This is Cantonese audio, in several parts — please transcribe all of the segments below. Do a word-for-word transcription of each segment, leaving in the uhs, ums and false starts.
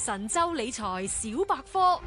神州理財小百科。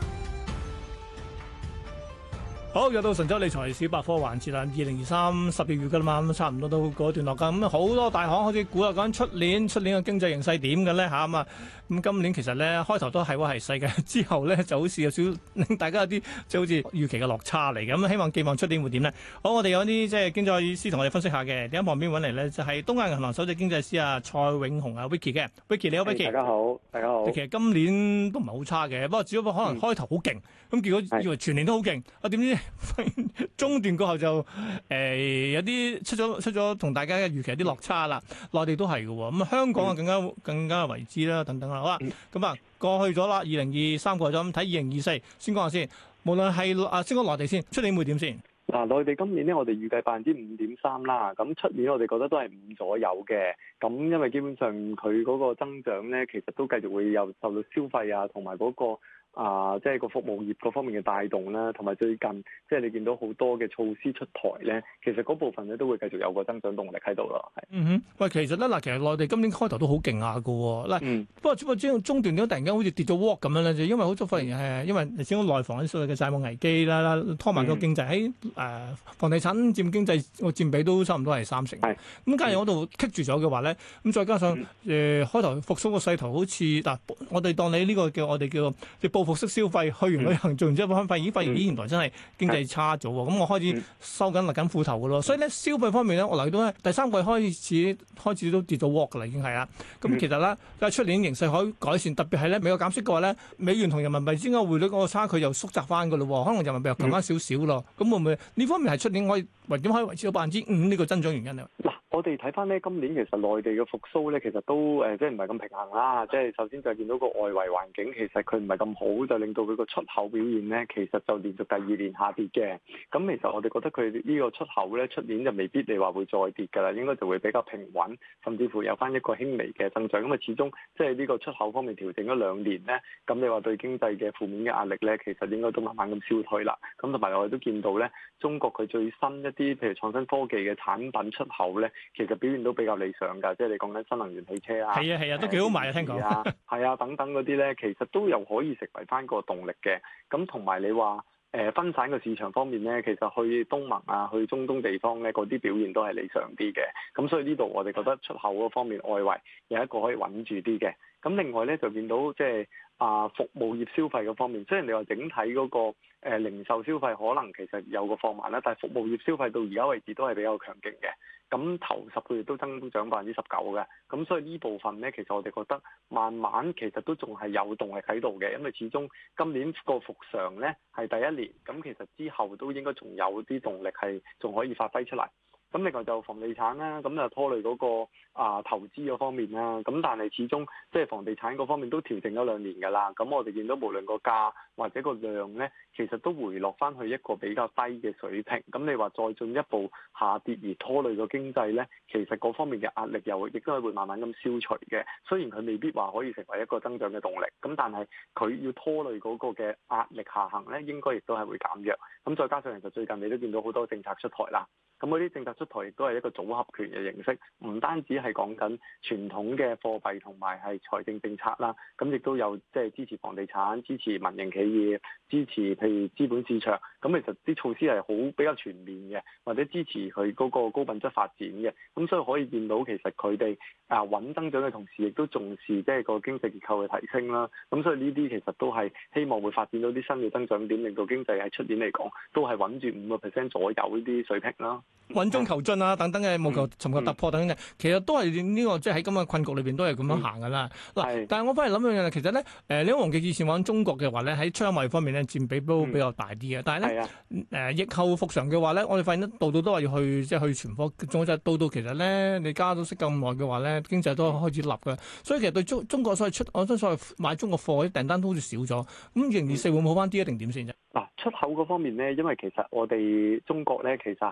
好，又到神州理財小百科環節啦。二零二三十二月噶啦嘛，咁差唔多都過一段落噶。咁好多大行開始估下講出年出年嘅經濟形勢點嘅咧嚇咁啊。咁今年其實咧開頭都係話係細嘅，之後咧就好似有少令大家有啲即係好似預期嘅落差嚟嘅。咁希望寄望出年會點咧？好，我哋有啲即係經濟師同我哋分析下嘅。點喺旁邊揾嚟咧？就係東亞銀行首席經濟師啊蔡永雄啊 Vicky 嘅 Vicky 你好 Vicky。 大家好，大家好。 其實今年都唔係好差嘅，不過只不過可能開頭好勁，咁、嗯、結果以為全年都好勁，啊點知中段過後就誒、呃、有啲出咗出咗同大家嘅預期有啲落差啦。內地都係嘅喎，咁、嗯、香港啊更加更加為之啦，等等啦。好啦，咁啊過去咗啦，二零二三過咗，咁睇二零二四先講下先。無論係啊先講內地先，出年會點先？ 嗱，內地今年咧，我哋預計百分之五點三啦。咁出年我哋覺得都係五左右嘅。咁因為基本上佢嗰個增長咧，其實都繼續會有受到消費啊，同埋嗰個啊，即係個服務業嗰方面嘅帶動啦。同埋最近即係你見到好多嘅措施出台咧，其實嗰部分咧都會繼續有個增長動力喺度咯。係。 嗯哼，喂，其實咧嗱，其實內地今年開頭都好勁下嘅喎。嗱、嗯，不過只不過中中段點解突然間好似跌咗鑊咁樣咧？就因為好多發現係因為你始終內房啲所謂嘅債務危機啦，拖慢個經濟喺誒房地產佔經濟個佔比都差唔多係三成。係。咁假如嗰度棘住咗嘅話咧，咁再加上誒、嗯呃、開頭復甦個勢頭好似嗱，我哋當你呢個叫我哋叫即係報復式消費，去完旅行、嗯、做完之後翻發現，咦發現咦原來真係經濟差咗喎。咁、嗯、我開始收緊勒緊褲頭嘅咯。所以咧消費方面咧，我留意到咧第三季開始開始都跌咗鑊㗎啦，已經係啦。咁其實咧，但係出年形勢可以改善，特別係咧美國減息嘅話咧，美元同人民幣之間匯率嗰個差距又縮窄翻㗎咯。可能人民幣又強翻少少咯。咁、嗯、會唔會呢方面係出年可以或點可以維持到百分之五呢個增長原因啊？ 嗱，我哋睇翻咧今年其實內地嘅復甦咧，其實都誒、呃、即係唔係咁平衡啦。即係首先就係見到個外圍環境其實佢唔係咁好，就令到佢個出口表現咧其實就連續第二年下跌嘅。咁其實我哋覺得佢呢個出口咧出年就未必你話會再跌㗎啦，應該就會比較平穩，甚至乎有翻一個輕微嘅增長。咁啊始終即係呢個出口方面調整咗兩年咧，咁你話對經濟嘅負面嘅壓力咧，其實應該都慢慢咁消退啦。咁同埋我哋都見到咧，中國佢最新一啲譬如創新科技嘅產品出口咧，其實表現都比較理想㗎。即係你講緊新能源汽車啊，係啊係啊，都幾好賣啊，聽講啊，係啊等等嗰啲咧，其實都又可以成為翻個動力嘅。咁同埋你話誒分散嘅市場方面咧，其實去東盟啊、去中東地方咧，嗰啲表現都係理想啲嘅。咁所以呢度我哋覺得出口嗰方面外圍有一個可以穩住啲嘅。咁另外咧就見到即係啊服務業消費嗰方面，雖然你話整體嗰個誒零售消費可能其實有個放慢啦，但係服務業消費到而家為止都係比較強勁嘅。咁頭十個月都增長百分之十九嘅，咁所以呢部分咧，其實我哋覺得慢慢其實都仲係有動力喺度嘅，因為始終今年個復常咧係第一年，咁其實之後都應該仲有啲動力係仲可以發揮出嚟。咁另外就房地產啦，咁就拖累嗰個啊投資嗰方面啦。咁但係始終即係房地產嗰方面都調整咗兩年㗎啦。咁我哋見到無論個價或者個量咧，其實都回落翻去一個比較低嘅水平。咁你話再進一步下跌而拖累個經濟咧，其實嗰方面嘅壓力又亦都係會慢慢咁消除嘅。雖然佢未必話可以成為一個增長嘅動力，咁但係佢要拖累嗰個嘅壓力下行咧，應該亦都係會減弱。咁再加上其實最近你都見到好多政策出台啦。咁嗰啲政策出台亦都係一個組合拳嘅形式，唔單止係講緊傳統嘅貨幣同埋係財政政策啦，咁亦都有即係支持房地產、支持民營企業、支持譬如資本市場。咁其實啲措施係好比較全面嘅，或者支持佢嗰個高品質發展嘅。咁所以可以見到其實佢哋啊穩增長嘅同時，亦都重視即係個經濟結構嘅提升啦。咁所以呢啲其實都係希望會發展到啲新嘅增長點，令到經濟喺出年嚟講都係穩住五個 percent 左右呢啲水平啦。 穩中求進啊，等等嘅務求尋求突破等等嘅，其實都係呢、這個即係喺今日困局裏邊都係咁樣行噶啦。嗱、嗯，但係我翻嚟諗一樣嘢，其實咧，誒，你黃記以前玩中國嘅話咧，喺出口貿易方面咧佔比都比較大啲嘅。但係咧，誒、嗯呃，疫後復常嘅話咧，我哋發現得度度都話要去即係去存貨，仲有就係到到其實咧，你加咗息咁耐嘅話咧，經濟都開始立嘅。所以其實對中中國所謂出，我真所謂買中國貨啲訂單都好似少咗。咁二零二四會唔會好翻啲一定點先啫？ 嗱，出口嗰方面咧，因為其實我哋中國咧，其實喺嗰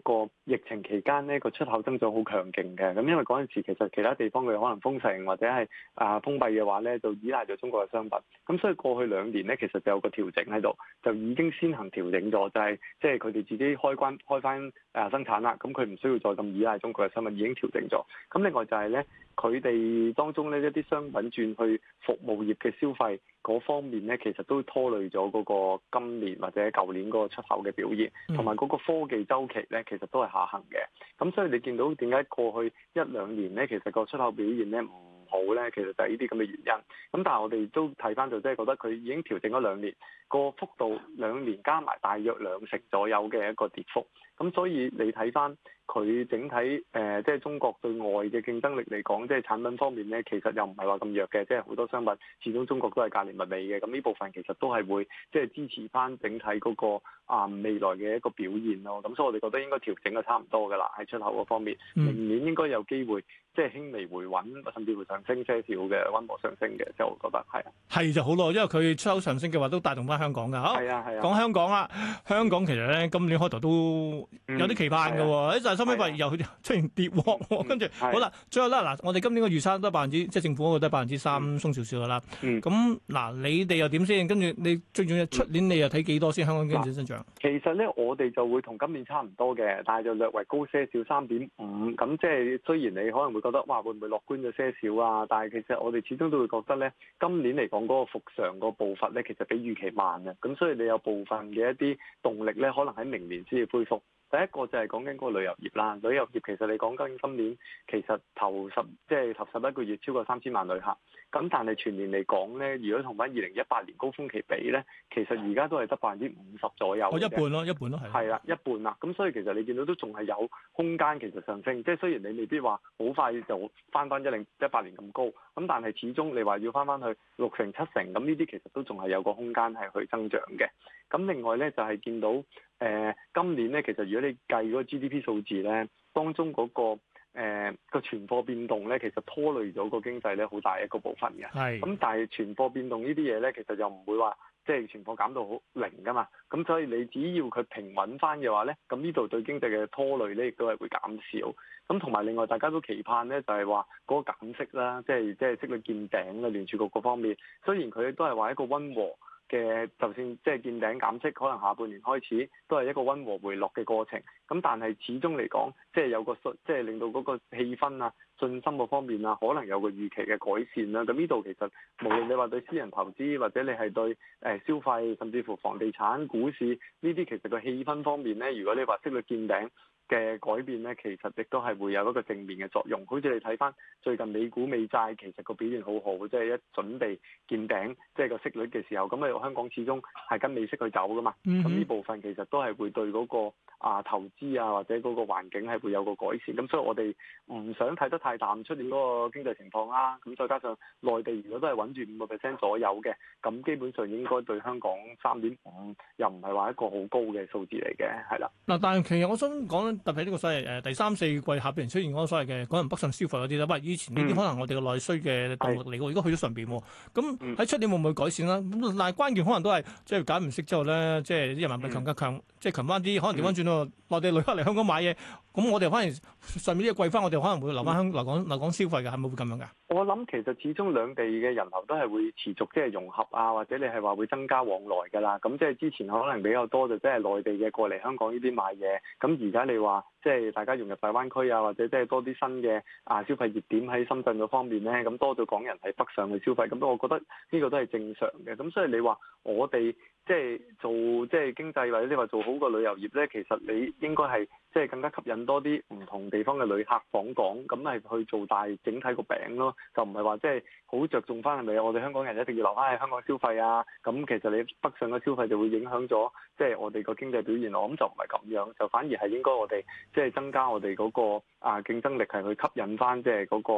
個疫情期間呢個出口增長好強勁嘅。咁因為嗰陣時其實其他地方佢可能封城或者係啊封閉嘅話咧，就依賴咗中國嘅商品。咁所以過去兩年咧，其實就有個調整喺度，就已經先行調整咗，就係即係佢哋自己開關開翻誒生產啦。咁佢唔需要再咁依賴中國嘅商品，已經調整咗。咁另外就係咧，佢哋當中咧一啲商品轉去服務業嘅消費嗰方面咧，其實都拖累咗嗰個今年或者舊年嗰個出口嘅表現，同埋嗰個科技周期咧，其實都係下行嘅。咁所以你見到點解過去一兩年咧，其實個出口表現咧唔好咧，其實就係呢啲咁嘅原因。咁但係我哋都睇翻就即係覺得佢已經調整咗兩年，個幅度兩年加埋大約兩成左右嘅一個跌幅。咁所以你睇翻佢整體誒、呃，即係中國對外嘅競爭力嚟講，即係產品方面咧，其實又唔係話咁弱嘅，即係好多商品始終中國都係價廉物美嘅。咁呢部分其實都係會即係支持翻整體嗰、那個啊、呃、未來嘅一個表現咯。咁所以我哋覺得應該調整得差唔多㗎啦，喺出口嗰方面，明年應該有機會即係輕微回穩，甚至會上升些少嘅溫和上升嘅，即係我覺得係啊。係就好咯，因為佢出口上升嘅話，都帶動翻香港㗎。係啊係啊。 講香港啦，香港其實咧今年開頭都有啲期盼嘅喎，但係收尾發現又出現跌喎，跟住好啦，最後啦嗱，我哋今年嘅預測都係百分之，即係政府嗰個都係百分之三鬆少少嘅啦。咁嗱，你哋又點先？跟住你最重要出年你又睇幾多先？香港經濟增長？ 其實咧，我哋就會同今年差唔多嘅，但係就略為高些少三點五。咁即係雖然你可能會覺得哇，會唔會樂觀咗些少啊？但係其實我哋始終都會覺得咧，今年嚟講嗰個復常個步伐咧，其實比預期慢嘅。咁所以你有部分嘅一啲動力咧，可能喺明年先至恢復。第一個就係講緊嗰個旅遊業啦，旅遊業其實你講緊今年其實頭十即係頭十一個月超過三千萬旅客，咁但係全年嚟講咧，如果同翻二零一八年高峰期比咧，其實而家都係得百分之五十左右。 哦，一半咯，一半咯，係。 係啦，一半啦，咁所以其實你見到都仲係有空間其實上升，即係雖然你未必話好快就翻翻一零一八年咁高，咁但係始終你話要翻翻去六成七成，咁呢啲其實都仲係有個空間係去增長嘅。咁另外咧就係、是、見到誒、呃、今年咧，其實如果你計嗰個 G D P 數字咧，當中嗰、那個誒個、呃、存貨變動咧，其實拖累咗個經濟咧好大一個部分嘅。係。咁但係存貨變動呢啲嘢咧，其實又唔會話即係存貨減到好零噶嘛。咁所以你只要佢平穩翻嘅話咧，咁呢度對經濟嘅拖累咧，亦都係會減少。咁同埋另外大家都期盼咧，就係話嗰個減息啦，即係即係息率見頂啦，聯儲局嗰方面，雖然佢都係話一個溫和嘅，就算即係見頂減息，可能下半年開始都係一個溫和回落嘅過程。咁但係始終嚟講，即係有個信，即係令到嗰個氣氛啊、信心嗰方面啊，可能有個預期嘅改善啦。咁呢度其實無論你話對私人投資，或者你係對誒消費，甚至乎房地產、股市呢啲，其實個氣氛方面咧，如果你話息率見頂嘅改變咧，其實亦都係會有一個正面嘅作用。好似你睇翻最近美股美債，其實個表現好好，即係一準備見頂，即係個息率嘅時候，咁啊香港始終係跟美息去走噶嘛。咁呢部分其實都係會對嗰個啊投資啊或者嗰個環境係會有個改善。咁所以我哋唔想睇得太淡出年嗰個經濟情況啦。咁再加上內地如果都係穩住五個 percent 左右嘅，咁基本上應該對香港三點五又唔係話一個好高嘅數字嚟嘅，係啦。 嗱，但係其實我想講特別呢個所謂誒第三四季下邊出現嗰個所謂嘅可能北上消費嗰啲咧，喂，以前呢啲可能我哋嘅內需嘅動力嚟嘅，而家去咗上邊喎。咁喺出年會唔會改善啦？咁但係關鍵可能都係即係解唔息之後咧，即係啲人民幣強加強，即係強翻啲，可能調翻轉咯。內地旅客嚟香港買嘢，咁我哋反而上面呢個貴翻，我哋可能會留翻香留港留港消費嘅，係咪會咁樣㗎？ 我諗其實始終兩地嘅人流都係會持續即係融合啊，或者你係話會增加往來㗎啦。咁即係之前可能比較多就即係內地嘅過嚟香港呢邊買嘢，咁而家你話即係大家融入大灣區啊，或者即係多啲新嘅啊消費熱點喺深圳嗰方面咧，咁多咗港人係北上去消費，咁我覺得呢個都係正常嘅。咁所以你話我哋即係做即係經濟或者你話做好個旅遊業咧，其實你應該係即係更加吸引多啲唔同地方嘅旅客訪港，咁係去做大整體個餅咯，就唔係話即係好着重翻係咪我哋香港人一定要留翻喺香港消費啊？咁其實你北上嘅消費就會影響咗即係我哋個經濟表現，我諗就唔係咁樣，就反而係應該我哋即係增加我哋嗰個啊競爭力，係去吸引翻即係嗰個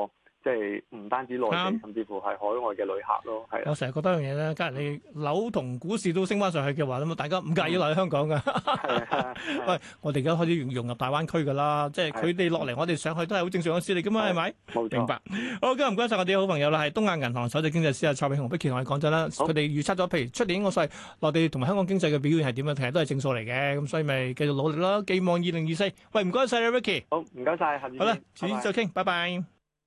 即係唔單止內地， 嗯、 甚至乎係海外嘅旅客咯。係。 我成日覺得一樣嘢咧，假如你樓同股市都升翻上去嘅話，咁大家唔介意落去香港㗎。係啊，喂，我哋而家開始融入大灣區㗎啦，即係佢哋落嚟，我哋上去都係好正常嘅事嚟㗎嘛，係咪？冇錯。明白。好，今日唔該晒我哋好朋友啦，係東亞銀行首席經濟師啊蔡永雄 Vicky 同我哋講真啦，佢哋預測咗，譬如出年個稅內地同埋香港經濟嘅表現係點樣，其實都係正數嚟嘅，咁所以咪繼續努力咯，寄望二零二四。喂，唔該晒你 Vicky。 好，唔該晒，下次好啦，遲啲再傾，拜拜。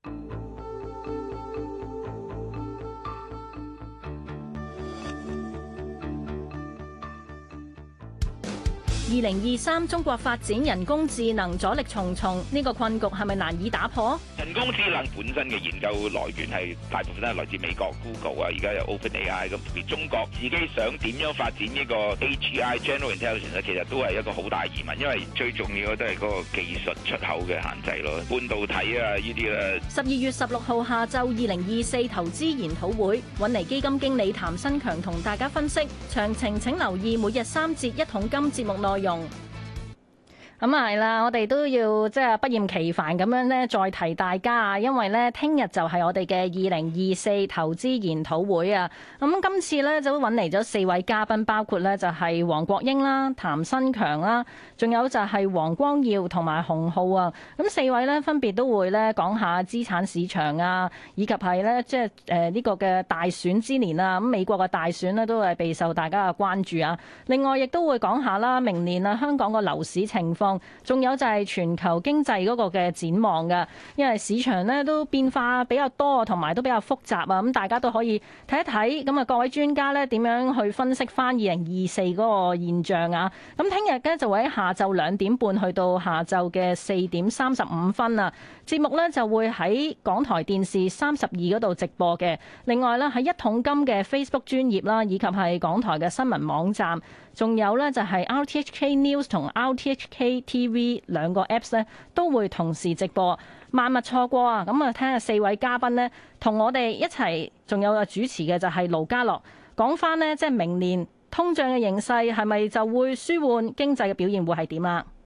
二零二三中國發展人工智能阻力重重，呢個困局係咪難以打破？ 人工智能本身嘅研究來源係大部分都係來自美國 Google 啊，而家有 OpenAI 咁。而中國自己想點樣發展呢個 A G I General Intelligence 咧，其實都係一個好大疑問，因為最重要嘅都係嗰個技術出口嘅限制咯，半導體啊呢啲咧。十二月十六號下晝，二零二四投資研討會，搵嚟基金經理譚新強同大家分析詳情，請留意每日三節一桶金節目內用。咁啊係啦，我哋都要即係不厭其煩咁樣咧，再提大家啊，因為咧聽日就係我哋嘅二零二四投資研討會啊。咁今次咧就揾嚟咗四位嘉賓，包括咧就係黃國英啦、譚新強啦，仲有就係黃光耀同埋洪浩啊。咁四位咧分別都會咧講下資產市場啊，以及係咧即係誒呢個嘅大選之年啊。咁美國嘅大選咧都係備受大家嘅關注啊。另外亦都會講下啦，明年啊香港個樓市情況。仲有就係全球經濟嗰個嘅展望嘅，因為市場咧都變化比較多，同埋都比較複雜啊，咁大家都可以睇一睇。咁啊，各位專家咧點樣去分析翻二零二四嗰個現象啊？咁聽日咧就會喺下晝兩點半去到下晝嘅四點三十五分啊，節目咧就會喺港台電視三十二嗰度直播嘅。另外咧喺一桶金嘅 Facebook 專頁啦，以及係港台嘅新聞網站。仲有咧就係 R T H K News 同 R T H K T V 兩個 Apps 咧都會同時直播，萬勿錯過啊！咁啊，聽下四位嘉賓咧同我哋一齊，仲有個主持嘅就係盧家樂，講翻呢，即係明年通脹嘅形勢係咪就會舒緩，經濟嘅表現會係點啊？